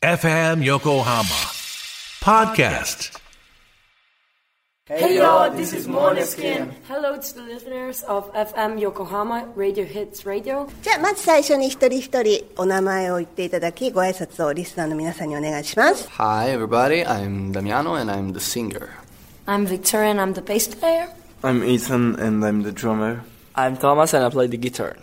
FM Yokohama Podcast. Hey yo, this is Måneskin. Hello to the listeners of FM Yokohama Radio Hits Radio. じゃあまず最初に一人一人お名前を言っていただきご挨拶をリスナーの皆さんにお願いします。 Hi everybody, I'm Damiano and I'm the singer. I'm Victoria and I'm the bass player. I'm Ethan and I'm the drummer. I'm Thomas and I play the guitar.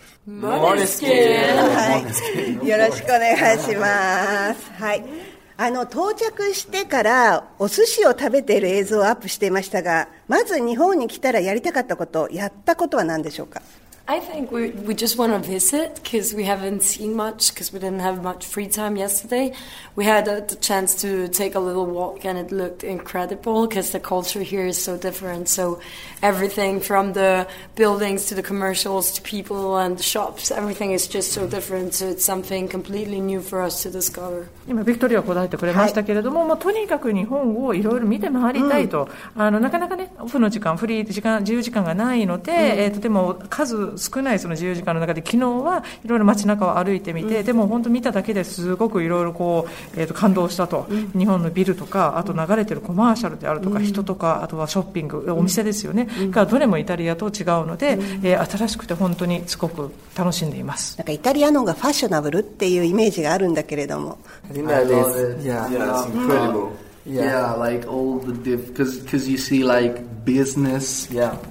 Måneskin. はい、よろしくお願いします。はい。到着してからお寿司を食べている映像をアップしていましたが、まず日本に来たらやりたかったこと、やったことは何でしょうか？ I think we just want to visit because we haven't seen much because we didn't have much free time yesterday. We had the chance to take a little walk and it looked incredible because the culture here is so different. So everything from the buildings to the commercials to people and the shops, everything is just so different. So it's something completely new for us to discover. 今ビクトリアが答えてくれましたけれども、まあ、とにかく日本をいろいろ見て回りたいと、なかなかねオフの時間フリー時間自由時間がないので、とても数少ないその自由時間の中で昨日はいろいろ街中を歩いてみて、でも本当見ただけですごくいろいろこう、感動したと、日本のビルとかあと流れてるコマーシャルであるとか、人とかあとはショッピングお店ですよね、がどれもイタリアと違うので、新しくて本当にすごく楽しんでいます。 なんかイタリアの方がファッショナブルっていうイメージがあるんだけれども。 I think that is, Yeah, it's incredible. Yeah, like all the because you see like business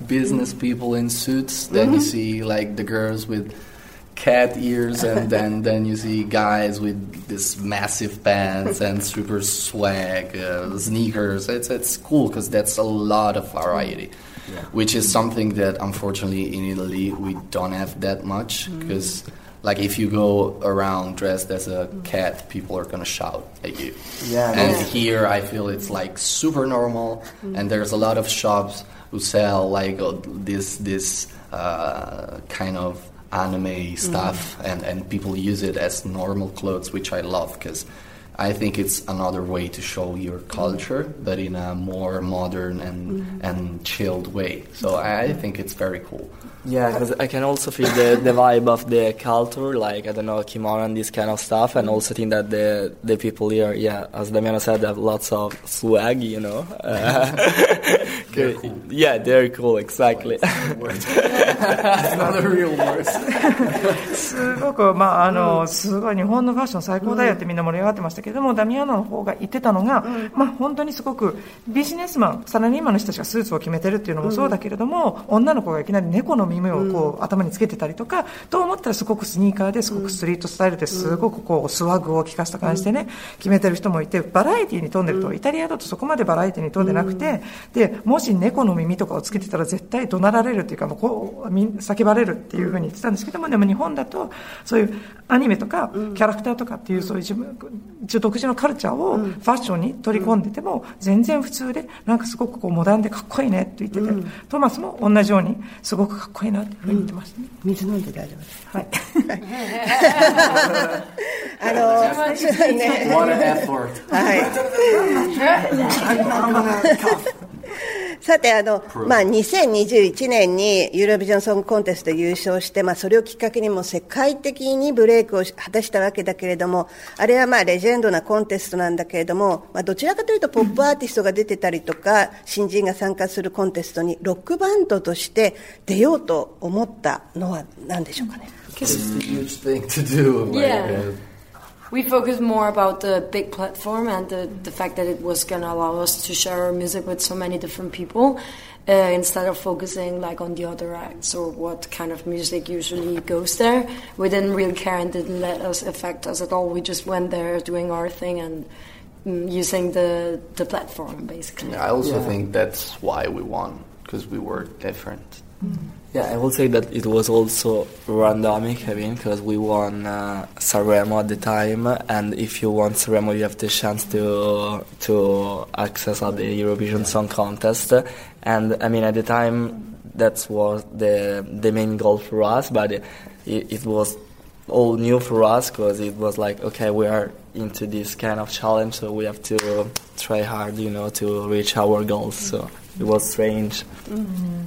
people in suits, then you see like the girls with cat ears, and then you see guys with this massive pants and super swag sneakers. It's cool because that's a lot of variety, which is something that unfortunately in Italy we don't have that much because. Like if you go around dressed as a cat, people are gonna shout at you. Yeah. And here I feel it's like super normal, and there's a lot of shops who sell like this kind of anime stuff, and people use it as normal clothes, which I love because I think it's another way to show your culture, but in a more modern and chilled way. So I think it's very cool. Yeah, because I can also feel the vibe of the culture, like, I don't know, kimono and this kind of stuff, and also think that the people here, as Damiano said, have lots of swag, you know. They're cool. Yeah, they're cool, exactly. It's not a real word. すごく、すごい日本のファッション最高だよってみんな盛り上がってましたけれども、ダミアノの方が言ってたのが、本当にすごくビジネスマン、サラリーマンの人たちがスーツを決めてるっていうのもそうだけれども、女の子がいきなり猫の耳をこう、頭につけてたりとか、と思ったらすごくスニーカーですごくストリートスタイルですごくこうスワッグを効かせた感じでね、決めてる人もいて、バラエティに富んでると、イタリアだとそこまでバラエティに富んでなくて、でもし猫の耳とかをつけてたら絶対怒鳴られるっていうか、もうこう叫ばれるっていうふうに言ってたんですけども、でも日本だとそういうアニメとかキャラクターとかっていうそういう自分独自のカルチャーをファッションに取り込んでても全然普通で、なんかすごくこうモダンでかっこいいねって言ってて、トマスも同じようにすごくかっこいいなっていうふうに言ってましたね。 水飲んで大丈夫です。 はい。 What an effort. はい。さて2021年にユーロビジョンソングコンテスト優勝して、それをきっかけにも世界的にブレイクを果たしたわけだけれども、あれはレジェンドなコンテストなんだけれども、どちらかというとポップアーティストが出てたりとか新人が参加するコンテストにロックバンドとして出ようと思ったのは何でしょうかね。 It's a huge thing to do. We focused more about the big platform and the fact that it was going to allow us to share our music with so many different people instead of focusing like on the other acts or what kind of music usually goes there. We didn't really care and didn't let us affect us at all. We just went there doing our thing and using the platform basically. I also think that's why we won, because we were different. Yeah, I will say that it was also randomic, because we won Sanremo at the time, and if you won Sanremo, you have the chance to access at the Eurovision Song Contest. And I mean, at the time, that was the main goal for us, but it was all new for us, because it was like, okay, we are into this kind of challenge, so we have to try hard, to reach our goals. So it was strange.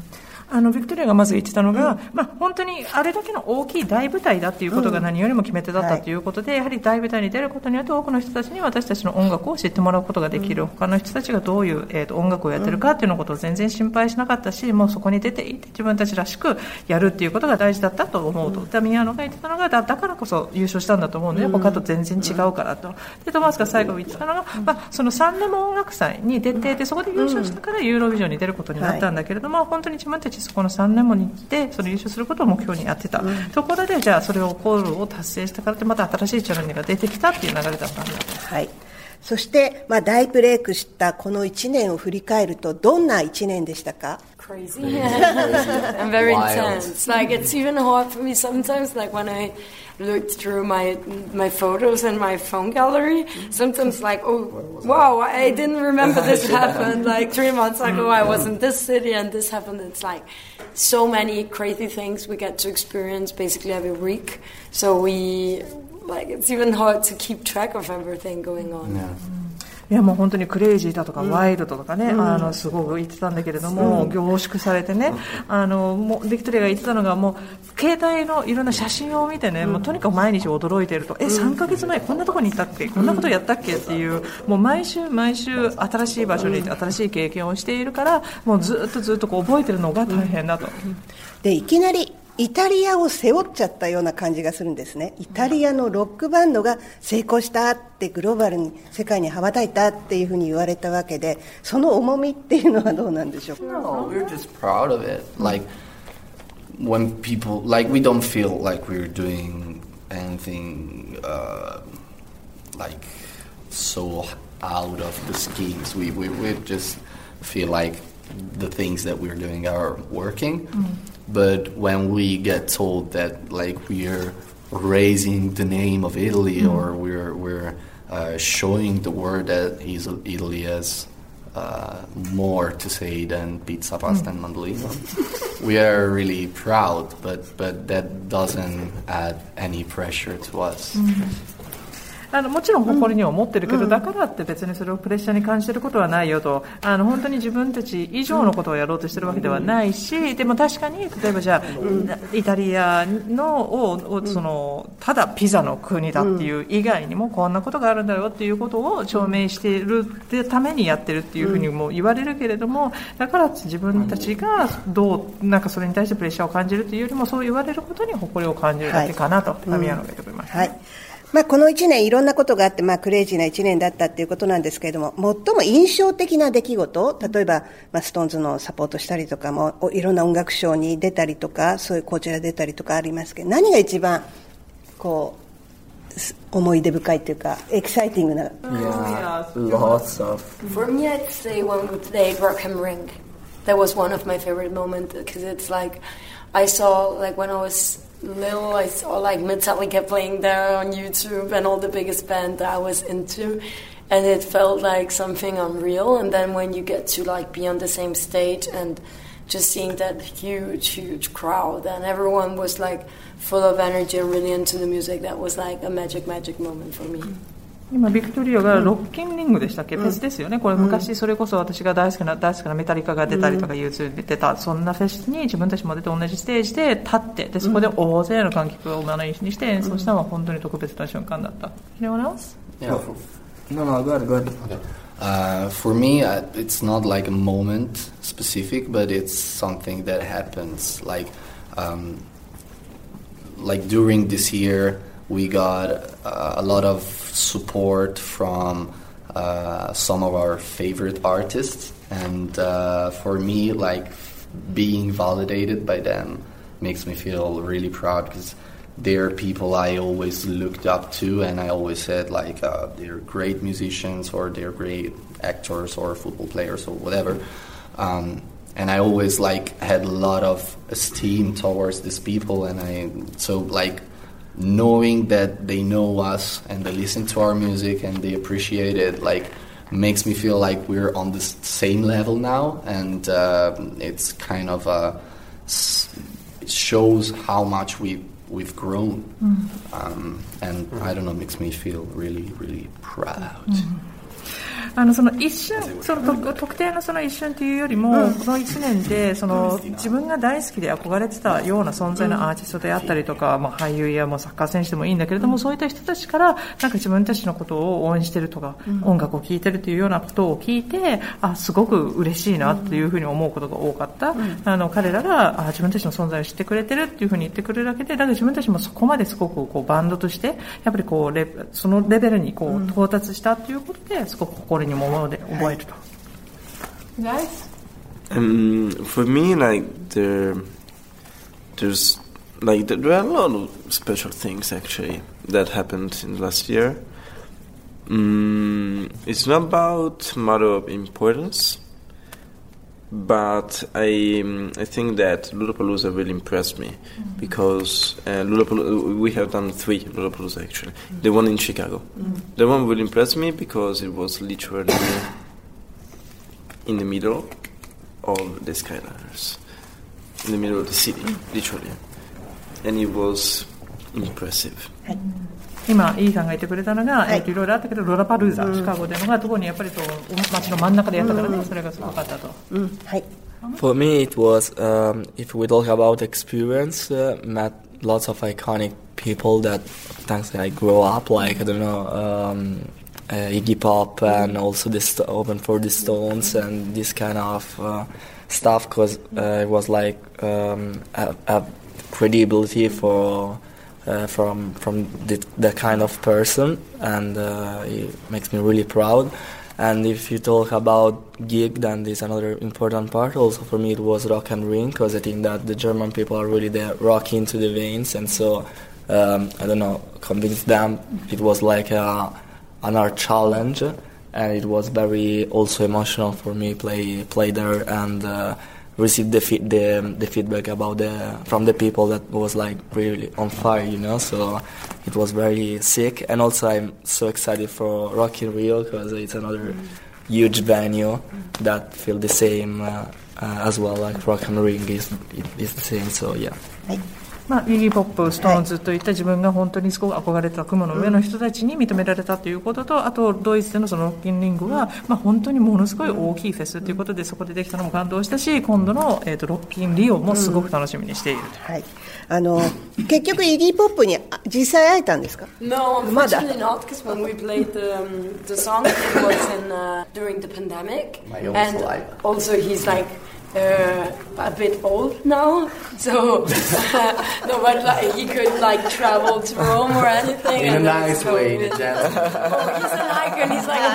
ビクトリアがまず言ってたのが、本当にあれだけの大きい大舞台だっていうことが何よりも決め手だったということで、やはり大舞台に出ることによって多くの人たちに私たちの音楽を知ってもらうことができる、他の人たちがどういう、音楽をやってるかっていうのことを全然心配しなかったし、もうそこに出ていって自分たちらしくやるっていうことが大事だったと思うと、ダミアノが言ってたのがだからこそ優勝したんだと思うので、他と全然違うからと。でトマスが最後言ってたのが、そのサンレモ音楽祭に出ていて、そこで優勝したからユーロビジョンに出ることになったんだけれども、本当に自分たちそこのサンレモに行ってその優勝することを目標にやってた、ところでじゃあそれをゴールを達成したからってまた新しいチャレンジが出てきたっていう流れだったんだと。 はい。そして、大ブレイクしたこの1年を振り返るとどんな1年でしたか ？Crazy and very intense. Like it's even hard for me sometimes. Like when I looked through my photos and my phone gallery, sometimes like, oh wow, I didn't remember this happened. Like 3 months ago, I was in this city and this happened. It's like so many crazy things we get to experience basically every week. So it's even hard to keep track of everything going on. Yeah. いやもう本当にクレイジーだとかワイルドとかね、すごく言ってたんだけれども、凝縮されてね、もうビクトリアが言ってたのが、もう携帯のいろんな写真を見てね、もうとにかく毎日驚いていると、3ヶ月前こんなとこに行ったっけ、こんなことやったっけっていう、もう毎週新しい場所に新しい経験をしているから、もうずっとこう覚えてるのが大変だと。 でいきなりイタリアを背負っちゃったような感じがするんですね。イタリアのロックバンドが成功したってグローバルに世界に羽ばたいたっていうふうに言われたわけで、その重みっていうのはどうなんでしょうか。 No, we're just proud of it. Like when people, like we don't feel like we're doing anything like so out of the schemes. We just feel like the things that we're doing are working. But when we get told that like we're raising the name of Italy or we're showing the world that Italy has more to say than pizza, pasta, and mandolino, we are really proud. But that doesn't add any pressure to us. もちろん誇りには持ってるけど、だからって別にそれをプレッシャーに感じてることはないよと、本当に自分たち以上のことをやろうとしてるわけではないし、でも確かに例えばじゃあイタリアのそのただピザの国だっていう以外にもこんなことがあるんだよっていうことを証明しているためにやってるっていうふうにも言われるけれども、だから自分たちがなんかそれに対してプレッシャーを感じるというよりも、そう言われることに誇りを感じるだけかなと、タミヤノが言っております。はい。 この1年いろんなことがあって、クレイジーな1年だったっていうことなんですけれども、最も印象的な出来事、例えば、ストーンズのサポートしたりとかも、いろんな音楽賞に出たりとか、そういうこちら出たりとかありますけど、何が一番こう思い出深いというかエキサイティングな。 Yeah, lots of. For me, I'd say when we played Rock am Ring, that was one of my favorite moments because it's like I saw like when I was little, I saw like Metallica playing there on YouTube and all the biggest band that I was into, and it felt like something unreal. And then when you get to like be on the same stage and just seeing that huge crowd and everyone was like full of energy and really into the music, that was like a magic moment for me. 今ビクトリアがロッキンリングでしたっけ、フェスですよね。これ昔それこそ私が大好きなメタリカが出たりとか YouTube で出た、そんなフェスに自分たちも出て同じステージで立って、でそこで大勢の観客を目の石にして演奏したのは本当に特別な瞬間だった。Anyone else? Yeah. No, go ahead. Okay. For me, it's not like a moment specific, but it's something that happens. Like during this year, we got a lot of support from some of our favorite artists, and for me, like being validated by them makes me feel really proud because they're people I always looked up to, and I always said like they're great musicians or they're great actors or football players or whatever, and I always like had a lot of esteem towards these people, and so like knowing that they know us and they listen to our music and they appreciate it, like makes me feel like we're on the same level now, and it's kind of it shows how much we've grown, and I don't know, makes me feel really proud. その一瞬、その特定のその一瞬というよりも、この1年でその自分が大好きで憧れてたような存在のアーティストであったりとか、俳優やサッカー選手でもいいんだけれども、そういった人たちからなんか自分たちのことを応援してるとか、音楽を聴いてるというようなことを聞いて、すごく嬉しいなというふうに思うことが多かった。彼らが自分たちの存在を知ってくれてるっていうふうに言ってくれるだけで、だから自分たちもそこまですごくバンドとしてやっぱりそのレベルに到達したということで、すごく心にも覚えると。 For me, like there are a lot of special things actually that happened in last year. It's not about matter of importance, but I think that Lollapalooza really impressed me because we have done 3 Lollapalooza actually. The one in Chicago, the one really impressed me because it was literally in the middle of the Skyliners, in the middle of the city, literally, and it was impressive. 今イーサンが言ってくれたのが、いろいろあったけどロラパルーザ、シカゴでのが特にやっぱり街の真ん中でやったからね、それがすごかったと。 はい。 For me, it was if we talk about experience, met lots of iconic people that thanks I grew up like I don't know Iggy Pop and also Open for the Stones and this kind of stuff because it was like a credibility for. From that kind of person, and it makes me really proud. And if you talk about gig, then there's another important part. Also for me, it was Rock am Ring because I think that the German people are really there, rock into the veins, and so I don't know, convince them. It was like another challenge, and it was very also emotional for me play there and. Received the feedback about from the people that was like really on fire, you know. So it was very sick, and also I'm so excited for Rock in Rio because it's another huge venue that feel the same as well. Like Rock am Ring is the same. So yeah. イギー・ポップ、ストーンズといった自分が本当にすごく憧れた雲の上の人たちに認められたということと、あとドイツでのそのロッキンリングは、本当にものすごい大きいフェスということで、そこでできたのも感動したし、今度の、ロッキンリオもすごく楽しみにしている、 はい、結局イギー・ポップに実際会えたんですか？ No, unfortunately not, because when we played the song, it was during the pandemic, and also he's like a bit old now, so no, but like he could like travel to Rome or anything. In a nice way, in a gentle. Oh, he's an icon. He's like a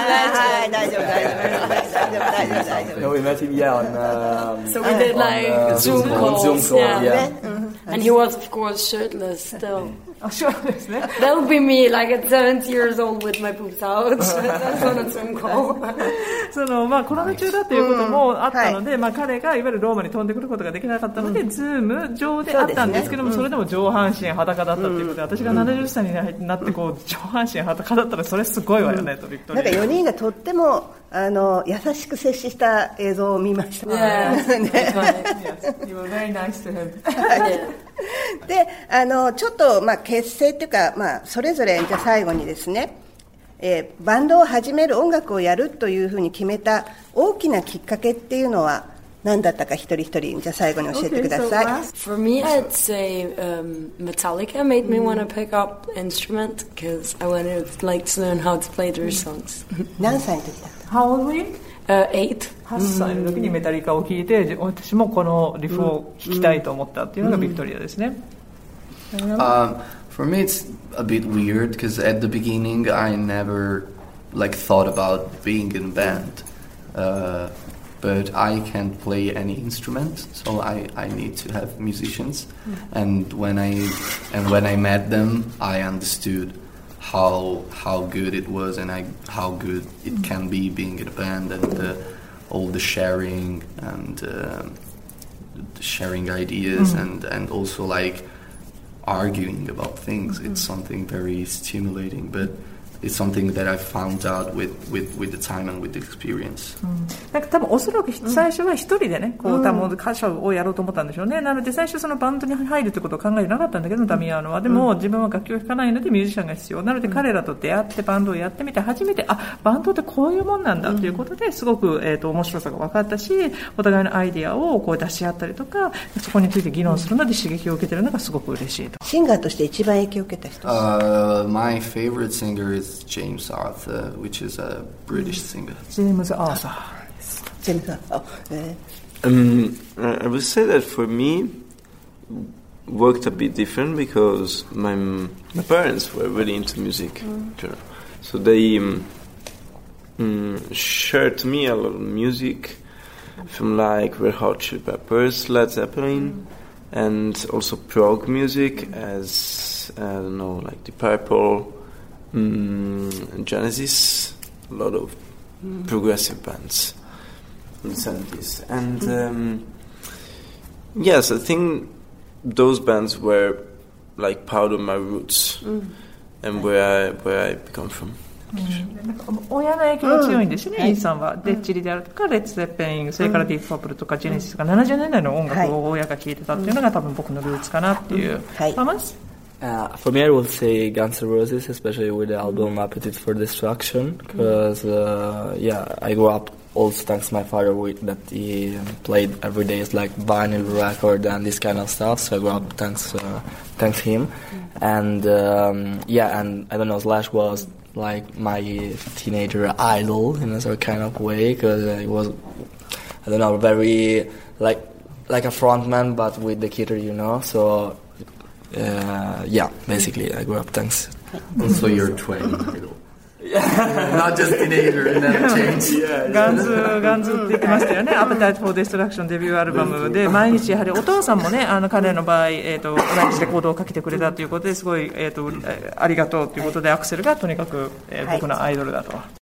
legend. No, we met him on. So we did like Zoom calls, yeah. And he was, of course, shirtless still. That would be me, like at 70 years old with my boobs out. That's on a Zoom call. コロナ中だということもあったので、彼がいわゆるローマに飛んでくることができなかったので、ズーム上であったんですけども、それでも上半身裸だったということで、私が70歳になって上半身裸だったらそれすごいわよねとビクトリア。 なんか4人がとっても優しく接した映像を見ました。 You were very nice to him. で、ちょっと結成というか、それぞれじゃあ最後にですね、バンドを始める、音楽をやるというふうに決めた大きなきっかけっていうのは何だったか一人一人じゃあ最後に教えてください。 For me, I'd say Metallica made me want to pick up instrument because I wanted to learn how to play their songs. 何歳の時だった？ How old were you? 8 歳の時にメタリカを聴いて、私もこのリフを聴きたいと思ったっていうのがビクトリアですね。 For me, it's a bit weird because at the beginning, I never thought about being in a band. But I can't play any instrument, so I need to have musicians. And when I met them, I understood how good it was and how good it can be being in a band and all the sharing and sharing ideas and also arguing about things. It's something very stimulating, but it's something that I found out with the time and with the experience. なんか多分おそらく最初は一人でね、こう歌手をやろうと思ったんでしょうね。なので最初そのバンドに入るってことを考えてなかったんだけど、ダミアーノは。でも自分は楽器を弾かないのでミュージシャンが必要。なので彼らと出会ってバンドをやってみて初めて、バンドってこういうもんなんだということですごく、面白さが分かったし、お互いのアイディアをこう出し合ったりとか、そこについて議論するので刺激を受けているのがすごく嬉しいと。 シンガーとして一番影響を受けた人。 My favorite singer is James Arthur, which is a British singer. ジェームズ・アーサー。 ジェームズ・アーサー。 I would say that for me worked a bit different because my parents were really into music, so they shared to me a lot of music from like Red Hot Chili Peppers, Led Zeppelin, and also prog music as I don't know, like Deep Purple, Genesis, a lot of progressive bands in the 70s. And yes, I think those bands were like part of my roots and where I come from. 親の影響が強いんですね、イーさんは。デッチリであるとか、レッツ・ゼッペリン、それからディープ・パープルとか、ジェネシスとか、70年代の音楽を親が聴いてたっていうのが多分僕のルーツかなっていう。 For me, I would say Guns N' Roses, especially with the album Appetite for Destruction, because I grew up also thanks to my father that he played every day is like vinyl record and this kind of stuff. So I grew up thanks him, and and I don't know, Slash was like my teenager idol in a sort of kind of way because it was, I don't know, very like a frontman but with the guitar, you know. So basically I grew up thanks. Also your twin idol. Not just teenager and then change. ガンズって言ってましたよね。Appetite for Destruction デビューアルバムで毎日やはりお父さんもね、彼の場合、同じレコードをかけてくれたということですごい、ありがとうということでアクセルがとにかく、僕のアイドルだと。